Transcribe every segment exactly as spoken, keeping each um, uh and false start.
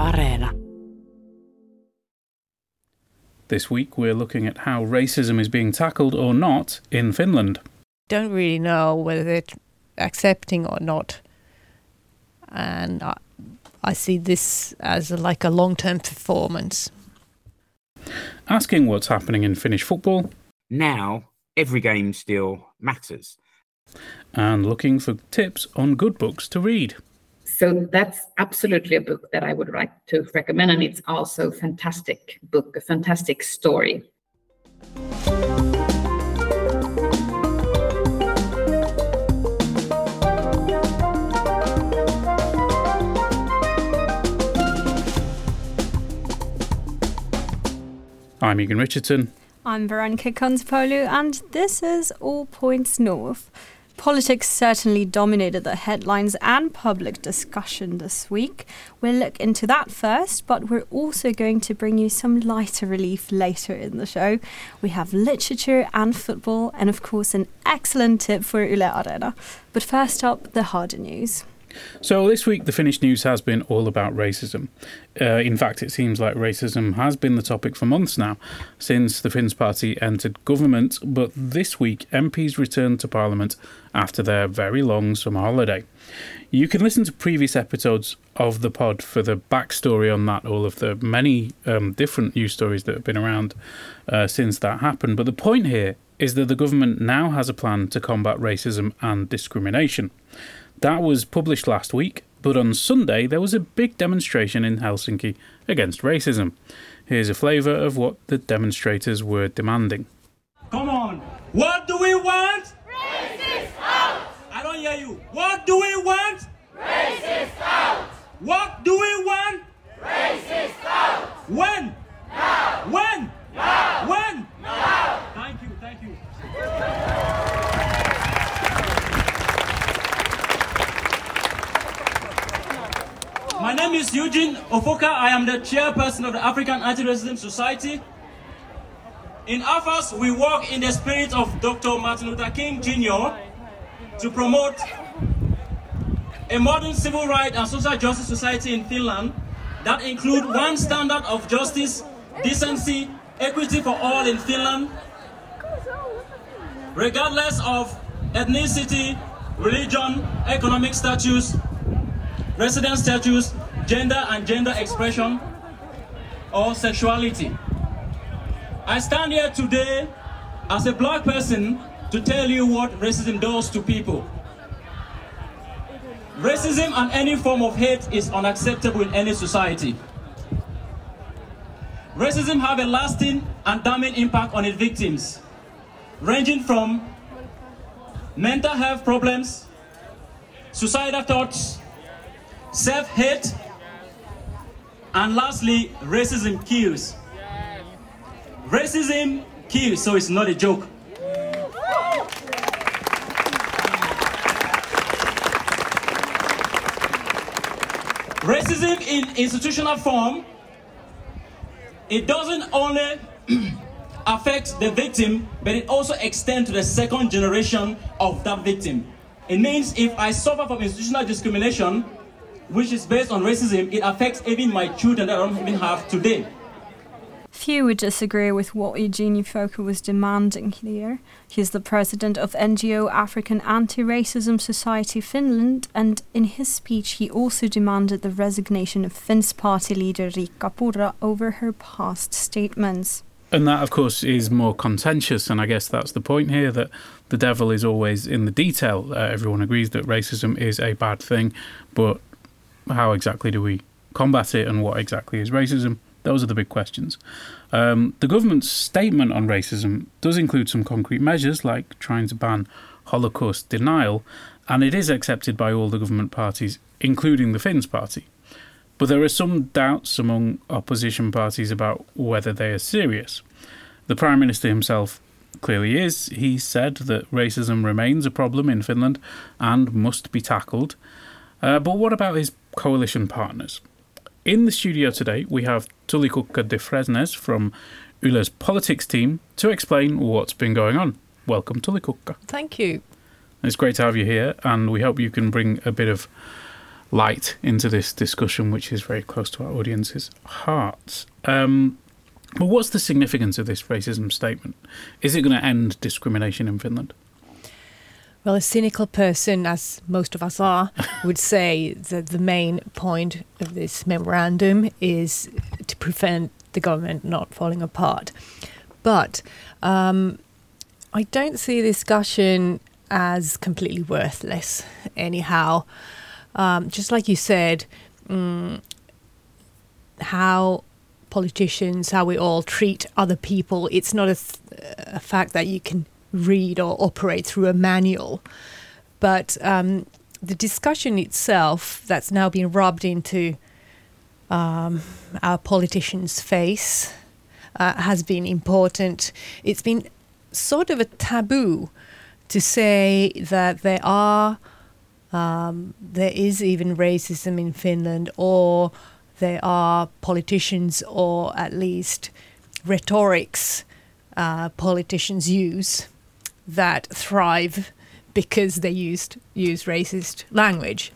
Areena. This week we're looking at how racism is being tackled or not in Finland. Don't really know whether they're accepting or not. And I, I see this as a, like a long-term performance. Asking what's happening in Finnish football. Now, every game still matters. And looking for tips on good books to read. So that's absolutely a book that I would like to recommend, and it's also a fantastic book, a fantastic story. I'm Egan Richardson. I'm Veronica Konsapoglou, and this is All Points North. Politics certainly dominated the headlines and public discussion this week. We'll look into that first, but we're also going to bring you some lighter relief later in the show. We have literature and football, and of course an excellent tip for Yle Areena. But first up, the harder news. So this week the Finnish news has been all about racism. Uh, in fact, it seems like racism has been the topic for months now, since the Finns party entered government, but this week M Ps returned to Parliament after their very long summer holiday. You can listen to previous episodes of the pod for the backstory on that, all of the many um, different news stories that have been around uh, since that happened. But the point here is that the government now has a plan to combat racism and discrimination. That was published last week, but on Sunday there was a big demonstration in Helsinki against racism. Here's a flavour of what the demonstrators were demanding. Come on! What do we want? Racist out! I don't hear you. What do we want? Racist out! What do we want? Racist out! When? Now! When? Now! When? Now! Thank you, thank you. My name is Eugene Ofoka. I am the chairperson of the African Anti-Racism Society. In A F A S, we work in the spirit of Doctor Martin Luther King Junior to promote a modern civil rights and social justice society in Finland that include one standard of justice, decency, equity for all in Finland, regardless of ethnicity, religion, economic status, resident status, gender and gender expression, or sexuality. I stand here today as a black person to tell you what racism does to people. Racism and any form of hate is unacceptable in any society. Racism have a lasting and damning impact on its victims, ranging from mental health problems, suicidal thoughts, self-hate, and lastly, racism kills. Racism kills, so it's not a joke. Racism in institutional form, it doesn't only affect the victim, but it also extends to the second generation of that victim. It means if I suffer from institutional discrimination, which is based on racism, it affects even my children that I don't even have today. Few would disagree with what Eugene Ofoka was demanding here. He's the president of N G O African Anti-Racism Society Finland, and in his speech he also demanded the resignation of Finns party leader Riikka Purra over her past statements. And that, of course, is more contentious, and I guess that's the point here, that the devil is always in the detail. Uh, everyone agrees that racism is a bad thing, but how exactly do we combat it, and what exactly is racism? Those are the big questions. Um, the government's statement on racism does include some concrete measures, like trying to ban Holocaust denial, and it is accepted by all the government parties, including the Finns party. But there are some doubts among opposition parties about whether they are serious. The Prime Minister himself clearly is. He said that racism remains a problem in Finland and must be tackled. Uh, but what about his coalition partners? In the studio today, we have Tulikukka de Fresnes from Yle's politics team to explain what's been going on. Welcome, Tulikukka. Thank you. It's great to have you here, and we hope you can bring a bit of light into this discussion, which is very close to our audience's hearts. Um, but what's the significance of this racism statement? Is it going to end discrimination in Finland? Well, a cynical person, as most of us are, would say that the main point of this memorandum is to prevent the government not falling apart. But um, I don't see discussion as completely worthless anyhow. Um, just like you said, um, how politicians, how we all treat other people, it's not a, th- a fact that you can read or operate through a manual. But um, the discussion itself that's now been rubbed into um, our politicians' face uh, has been important. It's been sort of a taboo to say that there are, um, there is even racism in Finland, or there are politicians, or at least rhetorics uh, politicians use that thrive because they used use racist language.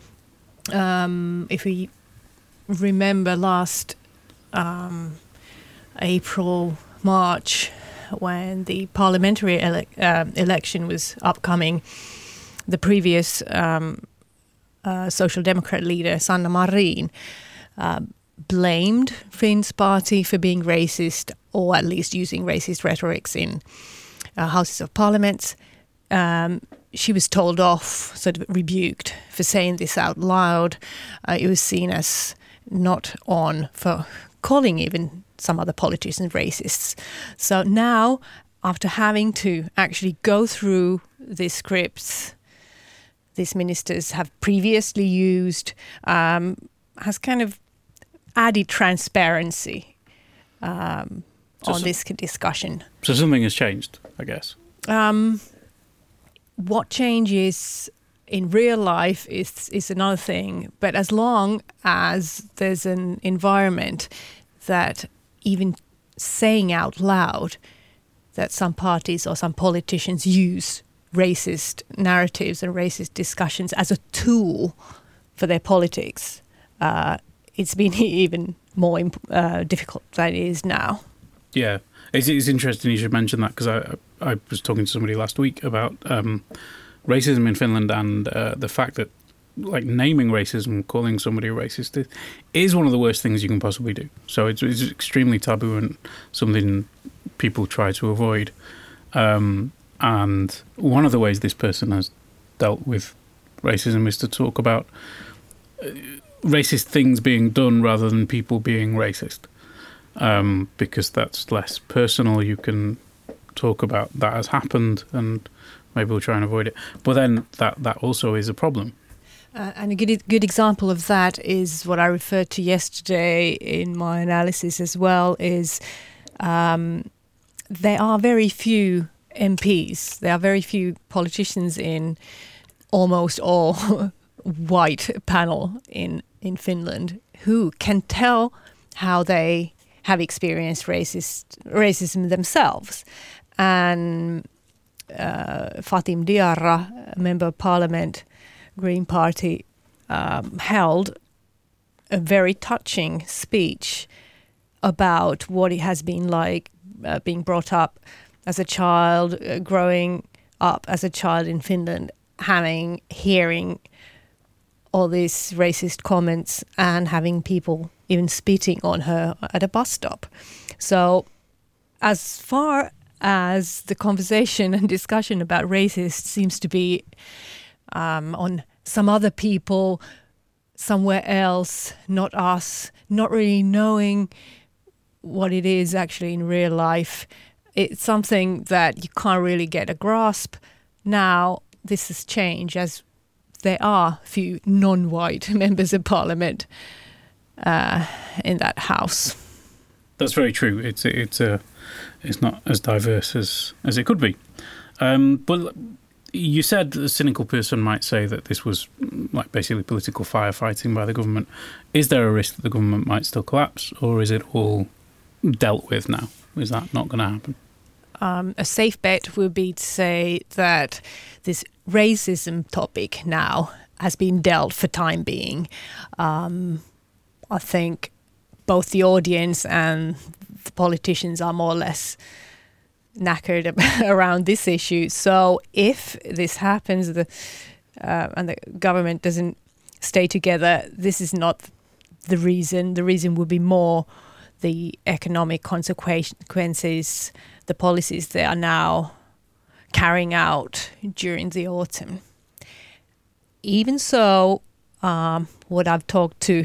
Um, if we remember last um, April, March, when the parliamentary ele- uh, election was upcoming, the previous um, uh, Social Democrat leader, Sanna Marin, uh, blamed Finn's party for being racist, or at least using racist rhetorics in uh, Houses of Parliament. Um, she was told off, sort of rebuked for saying this out loud. Uh, it was seen as not on for calling even some other politicians racists. So now, after having to actually go through these scripts these ministers have previously used, um, has kind of added transparency um, so on so, this discussion. So something has changed, I guess. Um, what changes in real life is is another thing, but as long as there's an environment that even saying out loud that some parties or some politicians use racist narratives and racist discussions as a tool for their politics, uh, it's been even more imp- uh, difficult than it is now. Yeah, it's, it's interesting you should mention that, because I I was talking to somebody last week about um, racism in Finland, and uh, the fact that like naming racism, calling somebody a racist is one of the worst things you can possibly do. So it's, it's extremely taboo and something people try to avoid. Um, and one of the ways this person has dealt with racism is to talk about uh, racist things being done rather than people being racist. Um, because that's less personal. You can talk about that has happened and maybe we'll try and avoid it. But then that, that also is a problem. Uh, and a good good example of that is what I referred to yesterday in my analysis as well, is um, there are very few M Ps, there are very few politicians in almost all white panel in, in Finland who can tell how they have experienced racist racism themselves. And uh, Fatim Diarra, a member of parliament, Green Party, um, held a very touching speech about what it has been like uh, being brought up as a child, uh, growing up as a child in Finland, having, hearing all these racist comments and having people even spitting on her at a bus stop. So as far as the conversation and discussion about racists seems to be Um, on some other people somewhere else, not us, not really knowing what it is actually in real life. It's something that you can't really get a grasp. Now this has changed, as there are few non-white members of parliament uh, in that house. That's very true. It's it's a it's not as diverse as as it could be. Um, but you said a cynical person might say that this was like basically political firefighting by the government. Is there a risk that the government might still collapse, or is it all dealt with now? Is that not going to happen? Um, a safe bet would be to say that this racism topic now has been dealt for time being. Um, I think both the audience and the politicians are more or less knackered around this issue. So if this happens, the uh, and the government doesn't stay together, this is not the reason. The reason would be more the economic consequences, the policies they are now carrying out during the autumn. Even so, um, what I've talked to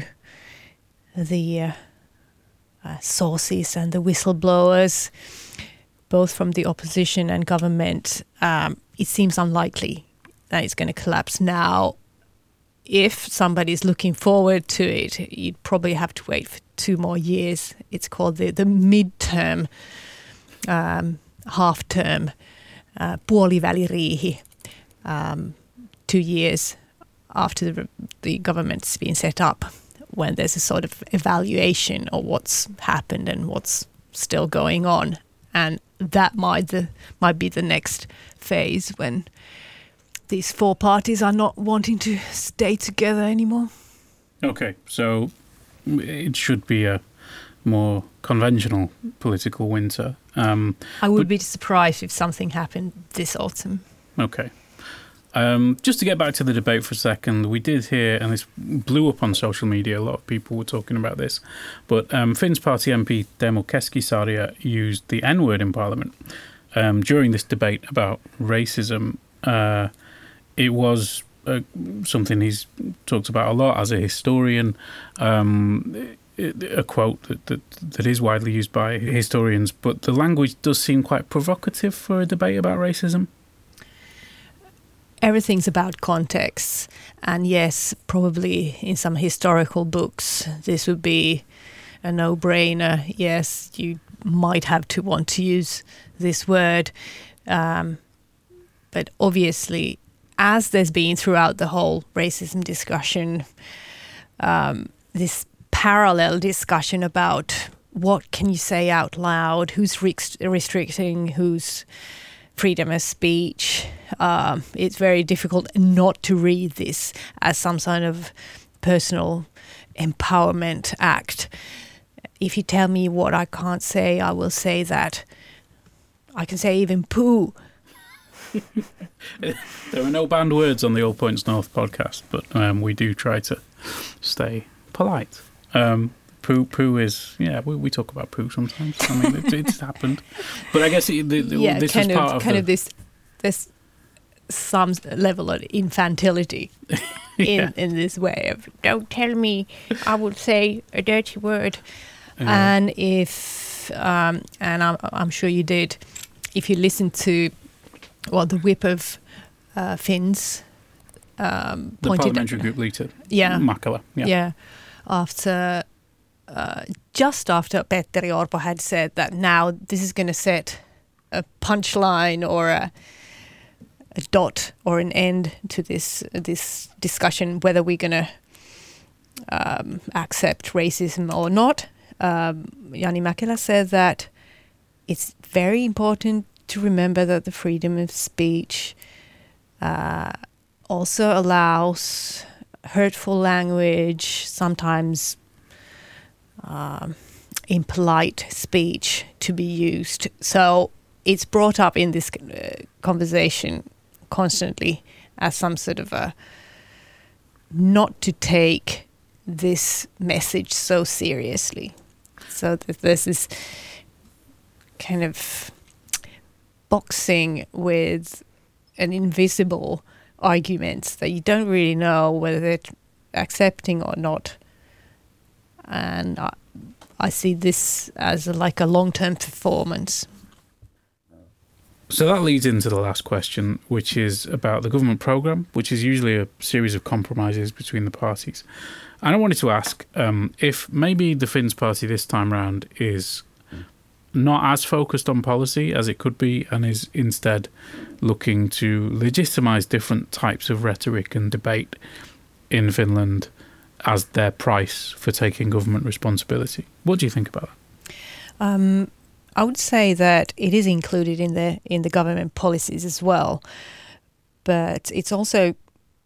the uh, uh, sources and the whistleblowers, both from the opposition and government, um, it seems unlikely that it's going to collapse now. If somebody's looking forward to it, you'd probably have to wait for two more years. It's called the, the midterm, um, half-term, uh, puoliväliriihi, um, two years after the, the government's been set up, when there's a sort of evaluation of what's happened and what's still going on. And that might, the, might be the next phase when these four parties are not wanting to stay together anymore. Okay, so it should be a more conventional political winter. Um, I would be surprised if something happened this autumn. Okay. Um, just to get back to the debate for a second, we did hear, and this blew up on social media, a lot of people were talking about this, but um, Finn's party M P Teemu Keskisarja used the N-word in Parliament um, during this debate about racism. Uh, it was uh, something he's talked about a lot as a historian, um, a quote that, that, that is widely used by historians, but the language does seem quite provocative for a debate about racism. Everything's about context. And yes, probably in some historical books, this would be a no-brainer. Yes, you might have to want to use this word. Um, but obviously, as there's been throughout the whole racism discussion, um, this parallel discussion about what can you say out loud, who's rest- restricting, who's freedom of speech. Um, it's very difficult not to read this as some kind of personal empowerment act. If you tell me what I can't say, I will say that. I can say even poo. There are no banned words on the All Points North podcast, but um, we do try to stay polite. Um, Poo, poo is, yeah, we, we talk about poo sometimes. I mean, it, it's happened. But I guess it, the, the, yeah, this kind was of, part of kind the, of this, this some level of infantility in, yeah. in this way of, don't tell me, I will say a dirty word. Yeah. And if, um, and I'm, I'm sure you did, if you listen to, well, the whip of uh, Finn's um, the pointed parliamentary group leader, yeah, Makala, yeah, yeah, after. Uh, just after Petteri Orpo had said that now this is going to set a punchline or a, a dot or an end to this this discussion, whether we're going to um, accept racism or not. Um, Jani Mäkelä said that it's very important to remember that the freedom of speech uh, also allows hurtful language, sometimes Um, impolite speech to be used. So it's brought up in this uh, conversation constantly as some sort of a not to take this message so seriously. So that there's this kind of boxing with an invisible argument that you don't really know whether they're accepting or not. And I, I see this as a, like a long-term performance. So that leads into the last question, which is about the government programme, which is usually a series of compromises between the parties. And I wanted to ask um, if maybe the Finns party this time round is not as focused on policy as it could be and is instead looking to legitimise different types of rhetoric and debate in Finland as their price for taking government responsibility. What do you think about that? Um, I would say that it is included in the in the government policies as well, but it's also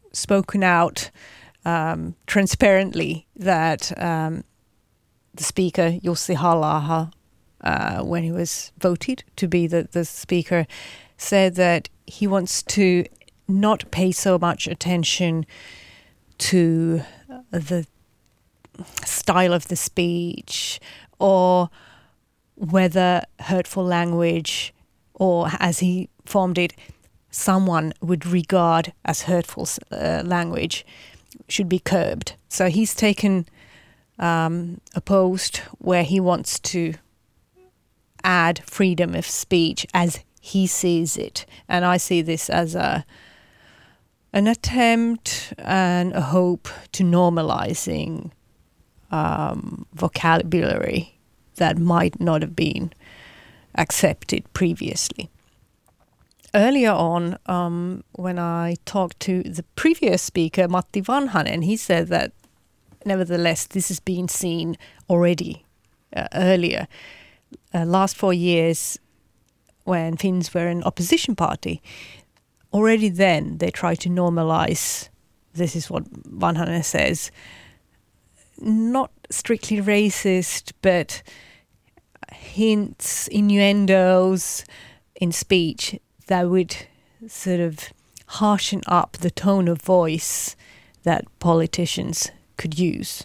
spoken out um, transparently that um, the speaker, Jussi Halla-aho, uh, when he was voted to be the, the speaker, said that he wants to not pay so much attention to the style of the speech or whether hurtful language, or as he formed it, someone would regard as hurtful uh, language, should be curbed. So he's taken um, a post where he wants to add freedom of speech as he sees it. And I see this as a an attempt and a hope to normalizing um, vocabulary that might not have been accepted previously. Earlier on, um, when I talked to the previous speaker, Matti Vanhanen, he said that nevertheless this has been seen already uh, earlier. Uh, last four years, when Finns were an opposition party, already then they tried to normalize, this is what Vanhanen says, not strictly racist, but hints, innuendos in speech that would sort of harshen up the tone of voice that politicians could use.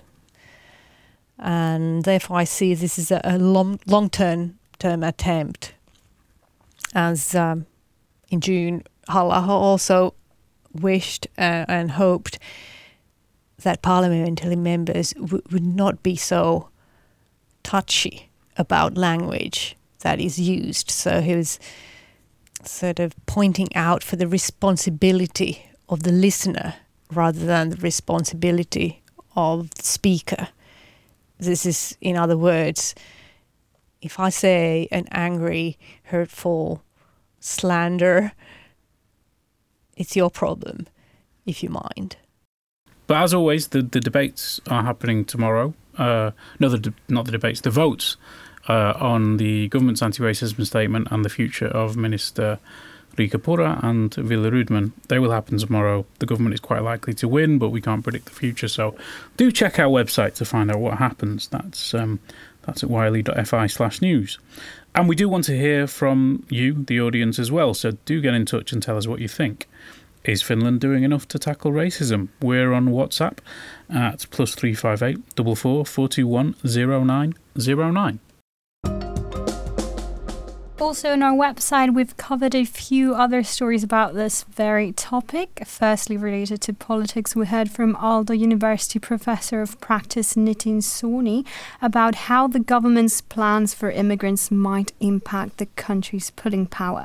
And therefore I see this as a, a long, long-term term attempt. As um, in June, Halla-aho also wished uh, and hoped that parliamentary members w- would not be so touchy about language that is used. So he was sort of pointing out for the responsibility of the listener rather than the responsibility of the speaker. This is, in other words, if I say an angry, hurtful slander, it's your problem, if you mind. But as always, the, the debates are happening tomorrow. Uh, no, the de- not the debates, the votes uh, on the government's anti-racism statement and the future of Minister Riikka Purra and Wille Rydman. They will happen tomorrow. The government is quite likely to win, but we can't predict the future. So do check our website to find out what happens. That's um, that's at yle.fi slash news. And we do want to hear from you, the audience, as well. So do get in touch and tell us what you think. Is Finland doing enough to tackle racism? We're on WhatsApp at plus three five eight four four four two one zero nine zero nine. Also on our website, we've covered a few other stories about this very topic. Firstly, related to politics, we heard from Aalto University Professor of Practice Nitin Soni about how the government's plans for immigrants might impact the country's pulling power.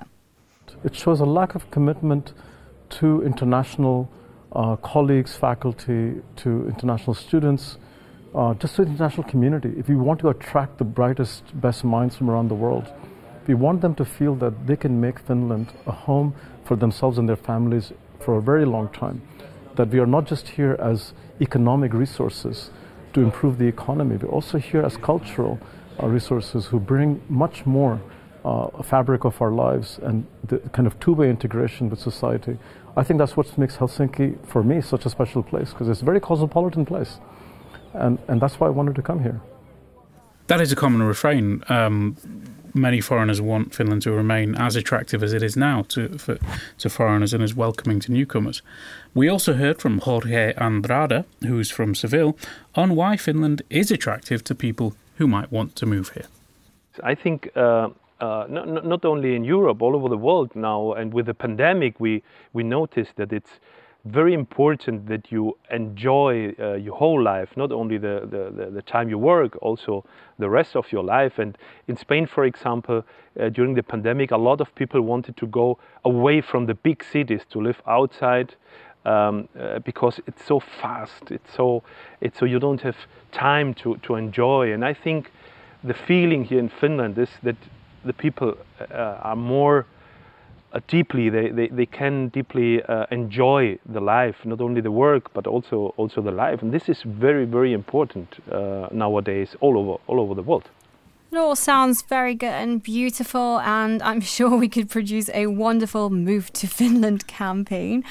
It shows a lack of commitment to international uh, colleagues, faculty, to international students, uh, just to the international community. If you want to attract the brightest, best minds from around the world, we want them to feel that they can make Finland a home for themselves and their families for a very long time. That we are not just here as economic resources to improve the economy, we're also here as cultural uh, resources who bring much more uh, fabric of our lives and the kind of two-way integration with society. I think that's what makes Helsinki, for me, such a special place, because it's a very cosmopolitan place. And, and that's why I wanted to come here. That is a common refrain. Um, many foreigners want Finland to remain as attractive as it is now to for, to foreigners and as welcoming to newcomers. We also heard from Jorge Andrade, who's from Seville, on why Finland is attractive to people who might want to move here. I think uh, uh, not, not only in Europe, all over the world now, and with the pandemic, we, we noticed that it's very important that you enjoy uh, your whole life, not only the, the, the time you work, also the rest of your life. And in Spain, for example, uh, during the pandemic, a lot of people wanted to go away from the big cities to live outside um, uh, because it's so fast. It's so, it's so you don't have time to, to enjoy. And I think the feeling here in Finland is that the people uh, are more Uh, deeply, they, they, they can deeply uh, enjoy the life, not only the work, but also also the life. And this is very, very important uh, nowadays all over all over the world. It all sounds very good and beautiful, and I'm sure we could produce a wonderful Move to Finland campaign.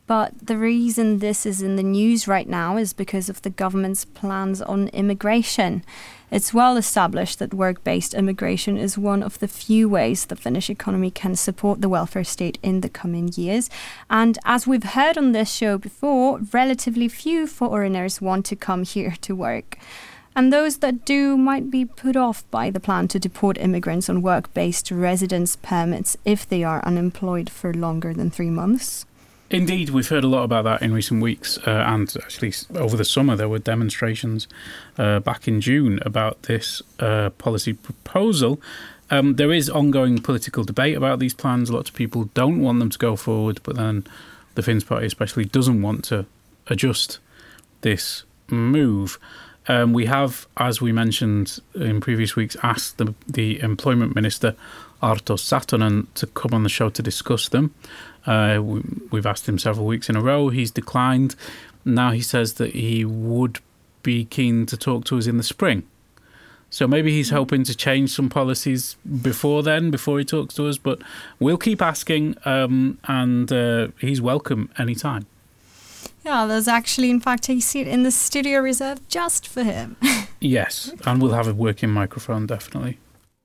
But the reason this is in the news right now is because of the government's plans on immigration. It's well established that work-based immigration is one of the few ways the Finnish economy can support the welfare state in the coming years. And as we've heard on this show before, relatively few foreigners want to come here to work. And those that do might be put off by the plan to deport immigrants on work-based residence permits if they are unemployed for longer than three months. Indeed, we've heard a lot about that in recent weeks, uh, and actually over the summer there were demonstrations uh, back in June about this uh, policy proposal. Um, there is ongoing political debate about these plans. Lots of people don't want them to go forward, but then the Finns Party especially doesn't want to adjust this move. Um, we have, as we mentioned in previous weeks, asked the, the Employment Minister, Arto Satonen, to come on the show to discuss them. Uh, we, we've asked him several weeks in a row. He's declined. Now he says that he would be keen to talk to us in the spring. So maybe he's hoping to change some policies before then, before he talks to us. But we'll keep asking, um, and uh, he's welcome anytime. Yeah, there's actually, in fact, a seat in the studio reserved just for him. Yes, and we'll have a working microphone, definitely.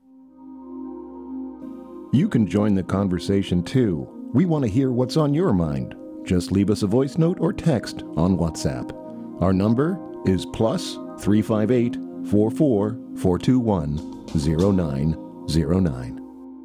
You can join the conversation too. We want to hear what's on your mind. Just leave us a voice note or text on WhatsApp. Our number is plus three five eight, four four, four two one, zero nine zero nine.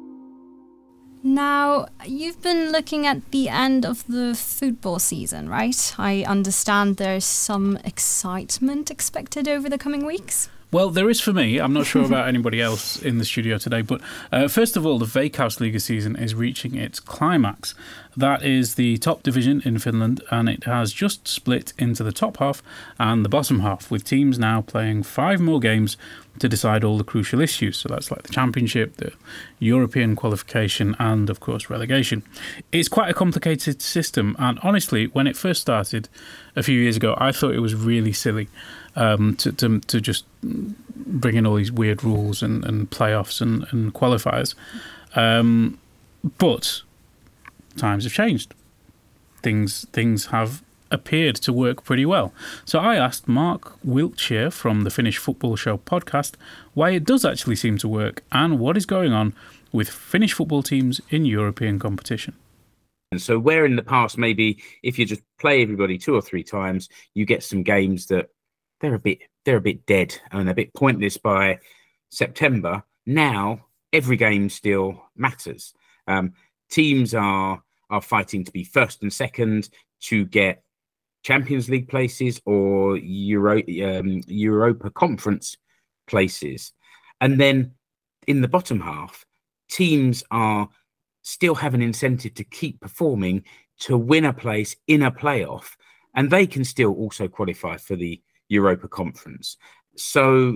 Now, you've been looking at the end of the football season, right? I understand there's some excitement expected over the coming weeks. Well, there is for me. I'm not sure about anybody else in the studio today. But uh, first of all, the Veikkausliiga season is reaching its climax. That is the top division in Finland, and it has just split into the top half and the bottom half, with teams now playing five more games to decide all the crucial issues. So that's like the championship, the European qualification, and, of course, relegation. It's quite a complicated system, and honestly, when it first started a few years ago, I thought it was really silly. Um, to, to to just bring in all these weird rules and, and playoffs and, and qualifiers. Um, but times have changed. Things things have appeared to work pretty well. So I asked Mark Wiltshire from the Finnish Football Show podcast why it does actually seem to work and what is going on with Finnish football teams in European competition. And so where in the past, maybe if you just play everybody two or three times, you get some games that they're a bit they're a bit dead and a bit pointless by September. Now every game still matters. Um, teams are are fighting to be first and second to get Champions League places or Euro, um, Europa Conference places, and then in the bottom half, teams are still have an incentive to keep performing to win a place in a playoff, and they can still also qualify for the Europa Conference. So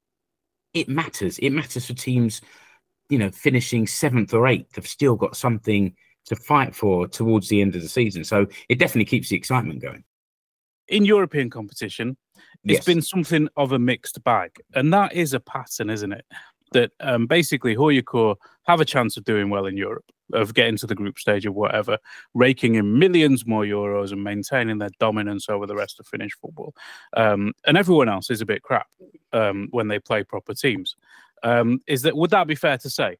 it matters. It matters for teams, you know, finishing seventh or eighth have still got something to fight for towards the end of the season. So it definitely keeps the excitement going. In European competition, it's Yes. been something of a mixed bag. And that is a pattern, isn't it? That um, basically H J K have a chance of doing well in Europe, of getting to the group stage or whatever, raking in millions more euros and maintaining their dominance over the rest of Finnish football. Um, and everyone else is a bit crap um, when they play proper teams. Um, is that would that be fair to say?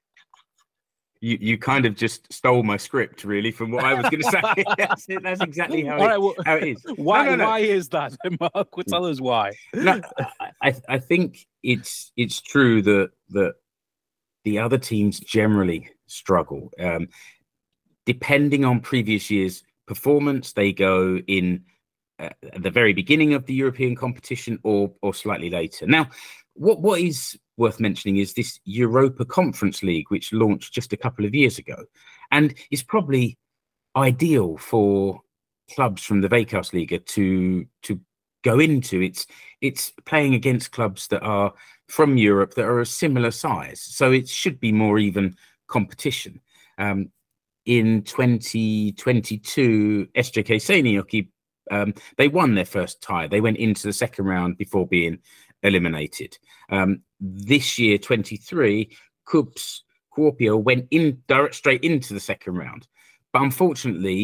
You you kind of just stole my script, really, from what I was going to say. that's, it, that's exactly how, All it, right, well, how it is. Why, No, no, no. why is that, Mark? Well, tell us why. No, I, I think it's it's true that that the other teams generally struggle. Um, depending on previous year's performance, they go in uh, at the very beginning of the European competition or or slightly later. Now, what what is worth mentioning is this Europa Conference League, which launched just a couple of years ago, and is probably ideal for clubs from the Veikkausliiga to to go into. It's it's playing against clubs that are from Europe that are a similar size, so it should be more even competition. Um, in twenty twenty-two, S J K Seinäjoki, um, they won their first tie. They went into the second round before being eliminated. Um, this year, twenty-three, KuPS Kuopio went in direct straight into the second round. But unfortunately,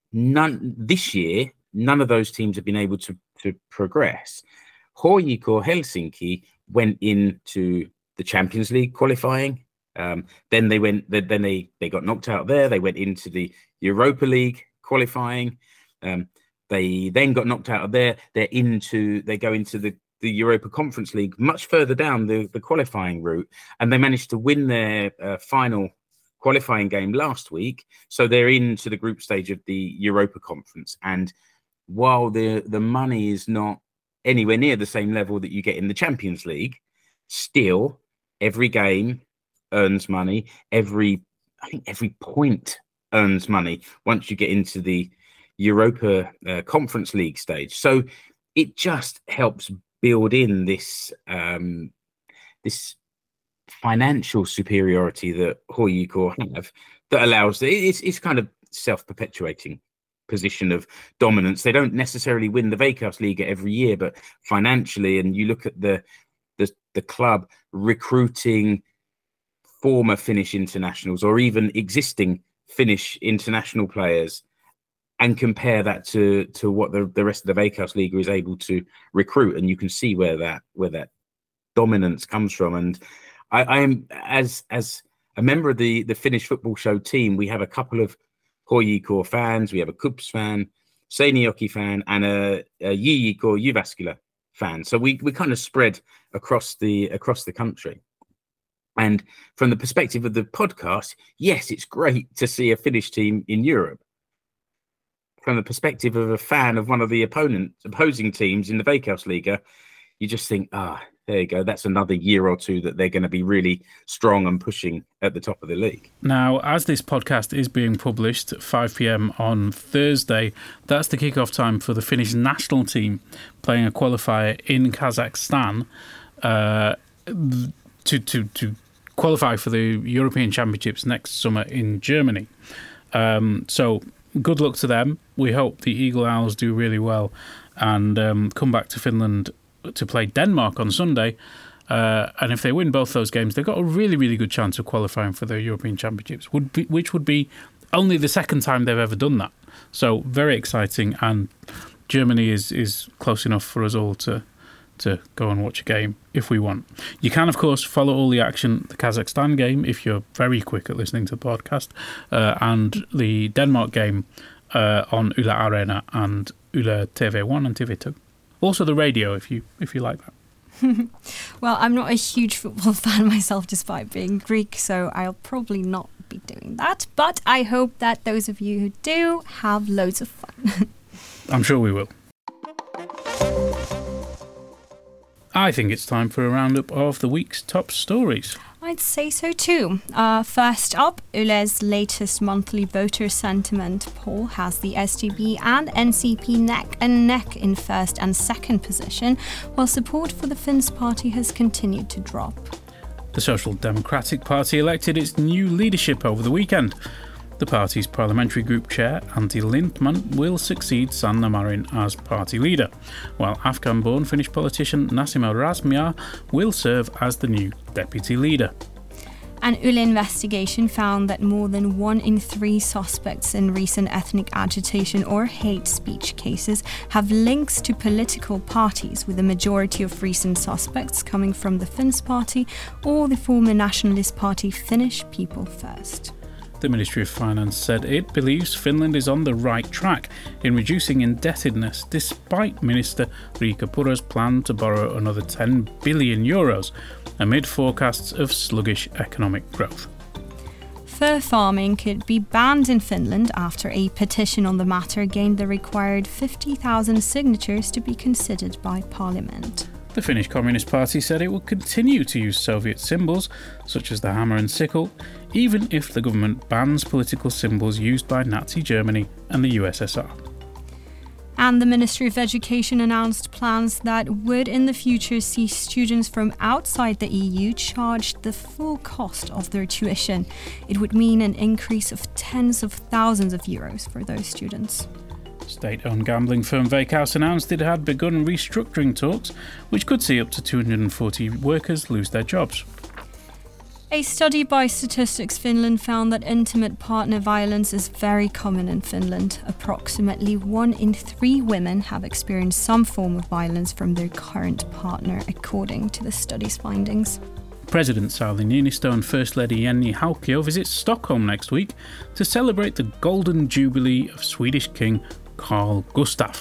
none this year, none of those teams have been able to, to progress. H J K Helsinki went into the Champions League qualifying. Um, then they went. Then they they got knocked out there. They went into the Europa League qualifying. Um, they then got knocked out of there. They're into. They go into the, the Europa Conference League, much further down the, the qualifying route, and they managed to win their uh, final qualifying game last week. So they're into the group stage of the Europa Conference. And while the the money is not anywhere near the same level that you get in the Champions League, still every game earns money. Every, I think every point earns money once you get into the Europa uh, Conference League stage. So it just helps build in this um, this financial superiority that H J K have that allows it's it's kind of self-perpetuating position of dominance. They don't necessarily win the Veikkausliiga every year, but financially, and you look at the the, the club recruiting former Finnish internationals or even existing Finnish international players and compare that to to what the, the rest of the Veikkausliiga is able to recruit, and you can see where that where that dominance comes from. And I, I am as as a member of the the Finnish football show team, we have a couple of H J K fans, we have a KuPS fan, Seinäjoki fan, and a, a J J K Jyväskylä fan. So we we kind of spread across the across the country. And from the perspective of the podcast, yes, it's great to see a Finnish team in Europe. From the perspective of a fan of one of the opponent opposing teams in the Veikkausliiga, you just think, ah, there you go. That's another year or two that they're going to be really strong and pushing at the top of the league. Now, as this podcast is being published at five p.m. on Thursday, that's the kickoff time for the Finnish national team playing a qualifier in Kazakhstan uh, to to to qualify for the European Championships next summer in Germany. Um, so good luck to them. We hope the Eagle Owls do really well and um, come back to Finland to play Denmark on Sunday. Uh, and if they win both those games, they've got a really, really good chance of qualifying for the European Championships, would be, which would be only the second time they've ever done that. So very exciting. And Germany is, is close enough for us all to to go and watch a game if we want. You can, of course, follow all the action, the Kazakhstan game, if you're very quick at listening to the podcast, uh, and the Denmark game uh, on Yle Arena and Yle T V one and T V two. Also the radio, if you if you like that. Well, I'm not a huge football fan myself, despite being Greek, so I'll probably not be doing that. But I hope that those of you who do have loads of fun. I'm sure we will. I think it's time for a roundup of the week's top stories. I'd say so too. Uh, first up, Yle's latest monthly voter sentiment poll has the S D B and N C P neck and neck in first and second position, while support for the Finns party has continued to drop. The Social Democratic Party elected its new leadership over the weekend. The party's parliamentary group chair, Antti Lindtman, will succeed Sanna Marin as party leader, while Afghan-born Finnish politician Nasima Razmyar will serve as the new deputy leader. An Yle investigation found that more than one in three suspects in recent ethnic agitation or hate speech cases have links to political parties, with the majority of recent suspects coming from the Finns party or the former nationalist party Finnish People First. The Ministry of Finance said it believes Finland is on the right track in reducing indebtedness, despite Minister Riikka Purra's plan to borrow another ten billion euros, amid forecasts of sluggish economic growth. Fur farming could be banned in Finland after a petition on the matter gained the required fifty thousand signatures to be considered by Parliament. The Finnish Communist Party said it will continue to use Soviet symbols, such as the hammer and sickle, even if the government bans political symbols used by Nazi Germany and the U S S R. And the Ministry of Education announced plans that would in the future see students from outside the E U charged the full cost of their tuition. It would mean an increase of tens of thousands of euros for those students. State-owned gambling firm Veikkaus announced it had begun restructuring talks, which could see up to two hundred forty workers lose their jobs. A study by Statistics Finland found that intimate partner violence is very common in Finland. Approximately one in three women have experienced some form of violence from their current partner, according to the study's findings. President Sauli Niinistö and First Lady Jenny Haukio visit Stockholm next week to celebrate the Golden Jubilee of Swedish King Carl Gustaf.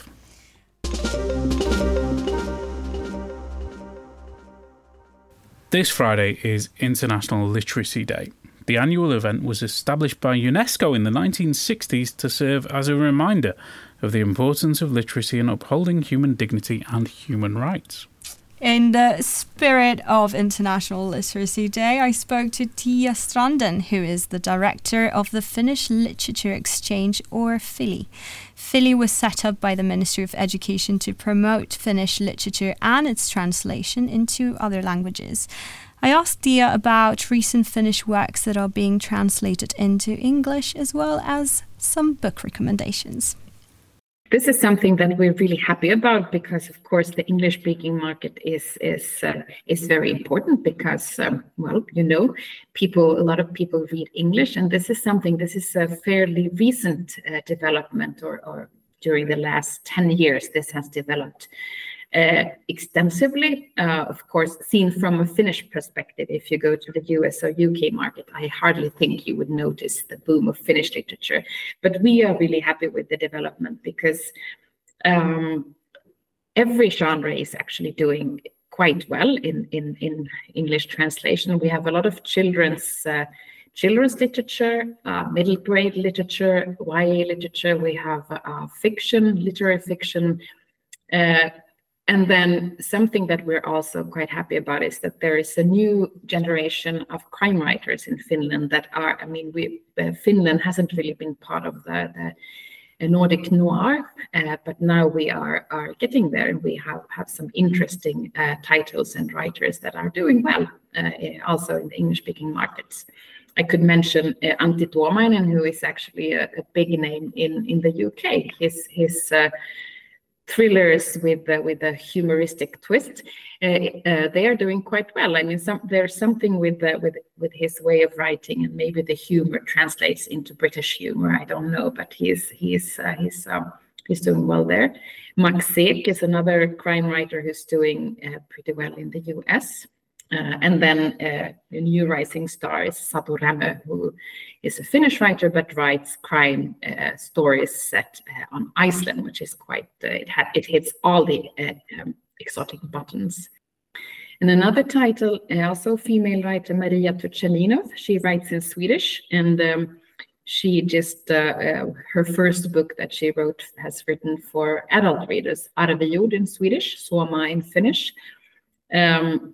This Friday is International Literacy Day. The annual event was established by UNESCO in the nineteen sixties to serve as a reminder of the importance of literacy in upholding human dignity and human rights. In the spirit of International Literacy Day, I spoke to Tia Stranden, who is the director of the Finnish Literature Exchange, or Fili. Fili was set up by the Ministry of Education to promote Finnish literature and its translation into other languages. I asked Tia about recent Finnish works that are being translated into English, as well as some book recommendations. This is something that we're really happy about because, of course, the English-speaking market is is uh, is very important because, um, well, you know, people, a lot of people read English, and this is something. This is a fairly recent uh, development, or, or during the last ten years, this has developed uh, extensively. Uh, of course, seen from a Finnish perspective, if you go to the U S or U K market, I hardly think you would notice the boom of Finnish literature. But we are really happy with the development because um, every genre is actually doing quite well in, in, in English translation. We have a lot of children's uh, children's literature, uh, middle grade literature, Y A literature. We have uh, fiction, literary fiction. Uh, And then something that we're also quite happy about is that there is a new generation of crime writers in Finland that are, I mean, we uh, Finland hasn't really been part of the, the Nordic noir, uh, but now we are are getting there, and we have, have some interesting uh, titles and writers that are doing well, uh, also in the English-speaking markets. I could mention uh, Antti Tuomainen, who is actually a, a big name in, in the U K. His his uh, thrillers with uh, with a humoristic twist, uh, uh, they are doing quite well. I mean, some, there's something with uh, with with his way of writing, and maybe the humor translates into British humor. I don't know, but he's he's uh, he's um, he's doing well there. Max Seek is another crime writer who's doing uh, pretty well in the U S. Uh, and then uh, a new rising star is Satu Rämö, who is a Finnish writer but writes crime uh, stories set uh, on Iceland, which is quite, uh, it, ha- it hits all the uh, um, exotic buttons. And another title, uh, also female writer, Maria Turchaninov. She writes in Swedish, and um, she just, uh, uh, her first book that she wrote has written for adult readers, Arvejord in Swedish, Suoma in Finnish. Um,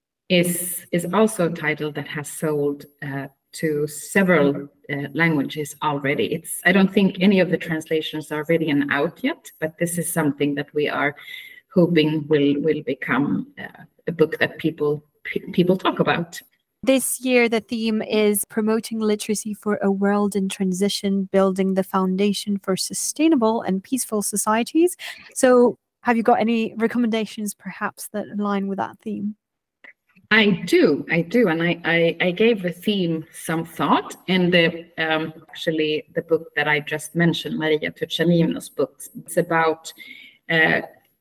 is is also a title that has sold uh, to several uh, languages already. It's I don't think any of the translations are ready and out yet, but this is something that we are hoping will will become uh, a book that people p- people talk about. This year, the theme is promoting literacy for a world in transition, building the foundation for sustainable and peaceful societies. So have you got any recommendations perhaps that align with that theme? I do, I do, and I, I, I gave the theme some thought, and the, um, actually the book that I just mentioned, Maria Turchaninov's book, it's about uh,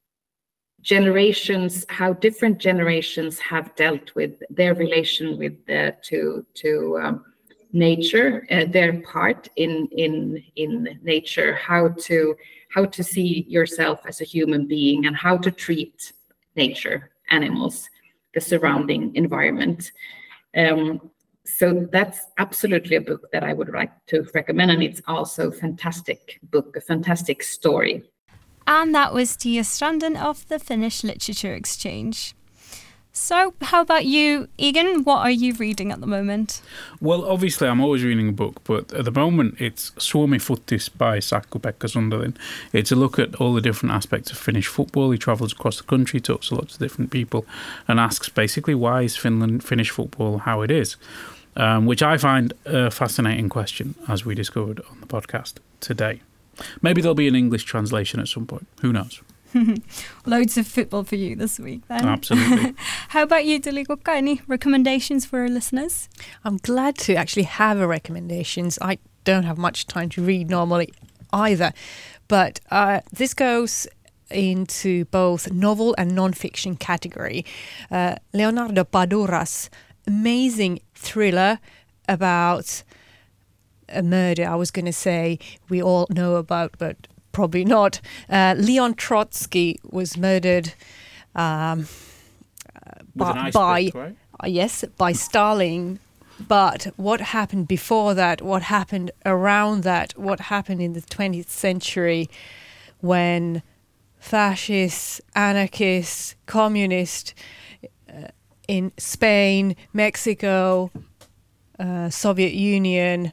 generations, how different generations have dealt with their relation with uh, to to um, nature, uh, their part in in in nature, how to how to see yourself as a human being, and how to treat nature, animals, the surrounding environment. Um, so that's absolutely a book that I would like to recommend, and it's also a fantastic book, a fantastic story. And that was Tia Stranden of the Finnish Literature Exchange. So how about you, Egan? What are you reading at the moment? Well, obviously I'm always reading a book, but at the moment it's Suomi Futtis by Sakko-Pekka Sundelin. It's a look at all the different aspects of Finnish football. He travels across the country, talks to lots of different people, and asks basically why is Finland Finnish football how it is, um, which I find a fascinating question, as we discovered on the podcast today. Maybe there'll be an English translation at some point. Who knows? Loads of football for you this week then. Absolutely. How about you, Tulikukka? Any recommendations for our listeners? I'm glad to actually have a recommendations. I don't have much time to read normally either. But uh, this goes into both novel and non-fiction category. Uh, Leonardo Padura's amazing thriller about a murder, I was going to say, we all know about, but probably not. Uh, Leon Trotsky was murdered um, by, by pick, right? uh, yes, by Stalin. But what happened before that, what happened around that, what happened in the twentieth century when fascists, anarchists, communists uh, in Spain, Mexico, uh, Soviet Union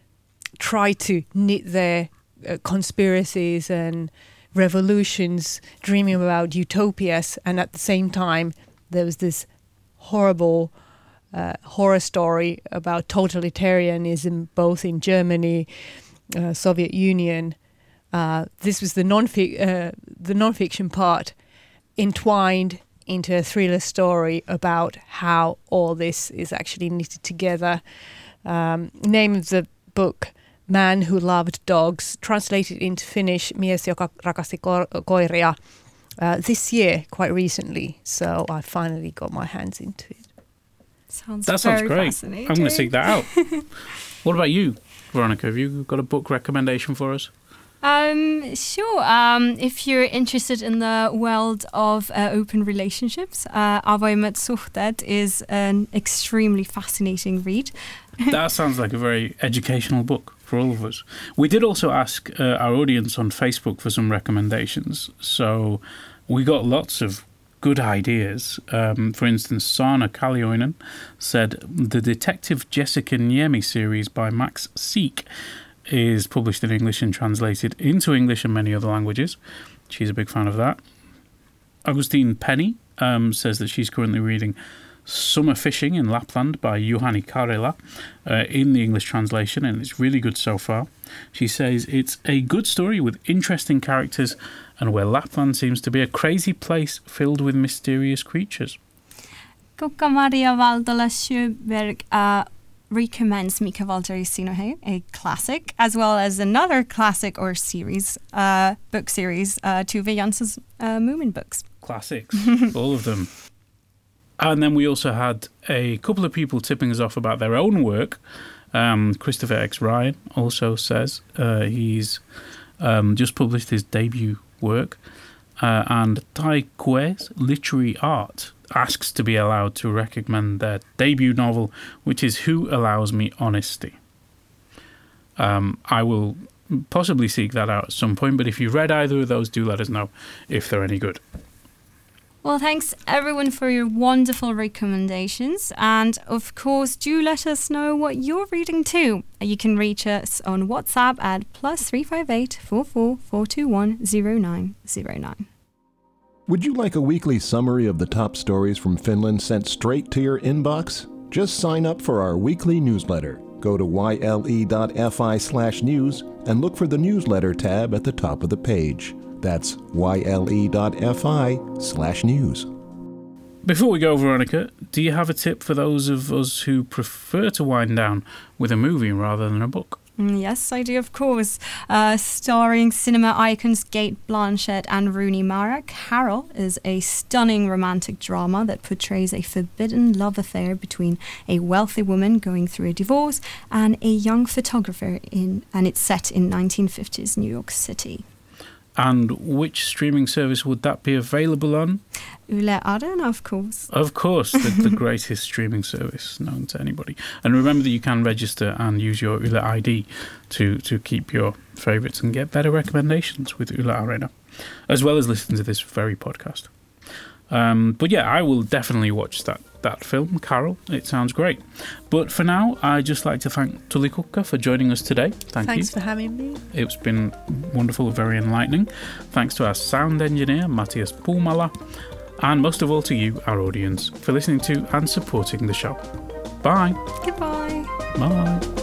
tried to knit their uh, conspiracies and revolutions, dreaming about utopias, and at the same time there was this horrible uh, horror story about totalitarianism both in Germany, uh, Soviet Union. Uh, this was the non uh, the non-fiction part entwined into a thriller story about how all this is actually knitted together. Um, name of the book, Man Who Loved Dogs, translated into Finnish, Mies, joka rakasti koiria, uh, this year, quite recently. So I finally got my hands into it. Sounds that very sounds great. Fascinating. I'm going to seek that out. What about you, Veronica? Have you got a book recommendation for us? Um, sure. Um, if you're interested in the world of uh, open relationships, uh, Avoimet Suhteet is an extremely fascinating read. That sounds like a very educational book for all of us. We did also ask uh, our audience on Facebook for some recommendations. So we got lots of good ideas. Um, for instance, Sana Kallioinen said the Detective Jessica Niemi series by Max Seek is published in English and translated into English and many other languages. She's a big fan of that. Augustine Penny um, says that she's currently reading Summer Fishing in Lapland by Juhani Karela uh, in the English translation, and it's really good so far. She says it's a good story with interesting characters and where Lapland seems to be a crazy place filled with mysterious creatures. Kukka-Maria Valtola Sjöberg uh, recommends Mika Valtteri Sinohe, a classic, as well as another classic or series, uh, book series, uh, Tove Jansson's uh, Moomin books. Classics, all of them. And then we also had a couple of people tipping us off about their own work. Um, Christopher X. Ryan also says uh, he's um, just published his debut work. Uh, and Tai Kue's Literary Art asks to be allowed to recommend their debut novel, which is Who Allows Me Honesty. Um, I will possibly seek that out at some point, but if you've read either of those, do let us know if they're any good. Well, thanks everyone for your wonderful recommendations. And of course, do let us know what you're reading too. You can reach us on WhatsApp at plus three five eight, four four, four two one, zero nine zero nine. Would you like a weekly summary of the top stories from Finland sent straight to your inbox? Just sign up for our weekly newsletter. Go to yle.fi slash news and look for the newsletter tab at the top of the page. That's yle.fi slash news. Before we go, Veronica, do you have a tip for those of us who prefer to wind down with a movie rather than a book? Yes, I do, of course. Uh, starring cinema icons Cate Blanchett and Rooney Mara, Carol is a stunning romantic drama that portrays a forbidden love affair between a wealthy woman going through a divorce and a young photographer, in, and it's set in nineteen fifties New York City. And which streaming service would that be available on? Yle Arena, of course. Of course, the, the greatest streaming service known to anybody. And remember that you can register and use your Yle I D to, to keep your favourites and get better recommendations with Yle Arena, as well as listen to this very podcast. Um, but yeah, I will definitely watch that, that film, Carol. It sounds great. But for now, I'd just like to thank Tulikukka for joining us today. Thank Thanks you. Thanks for having me. It's been wonderful, very enlightening. Thanks to our sound engineer, Matthias Puumala. And most of all to you, our audience, for listening to and supporting the show. Bye. Goodbye. Bye.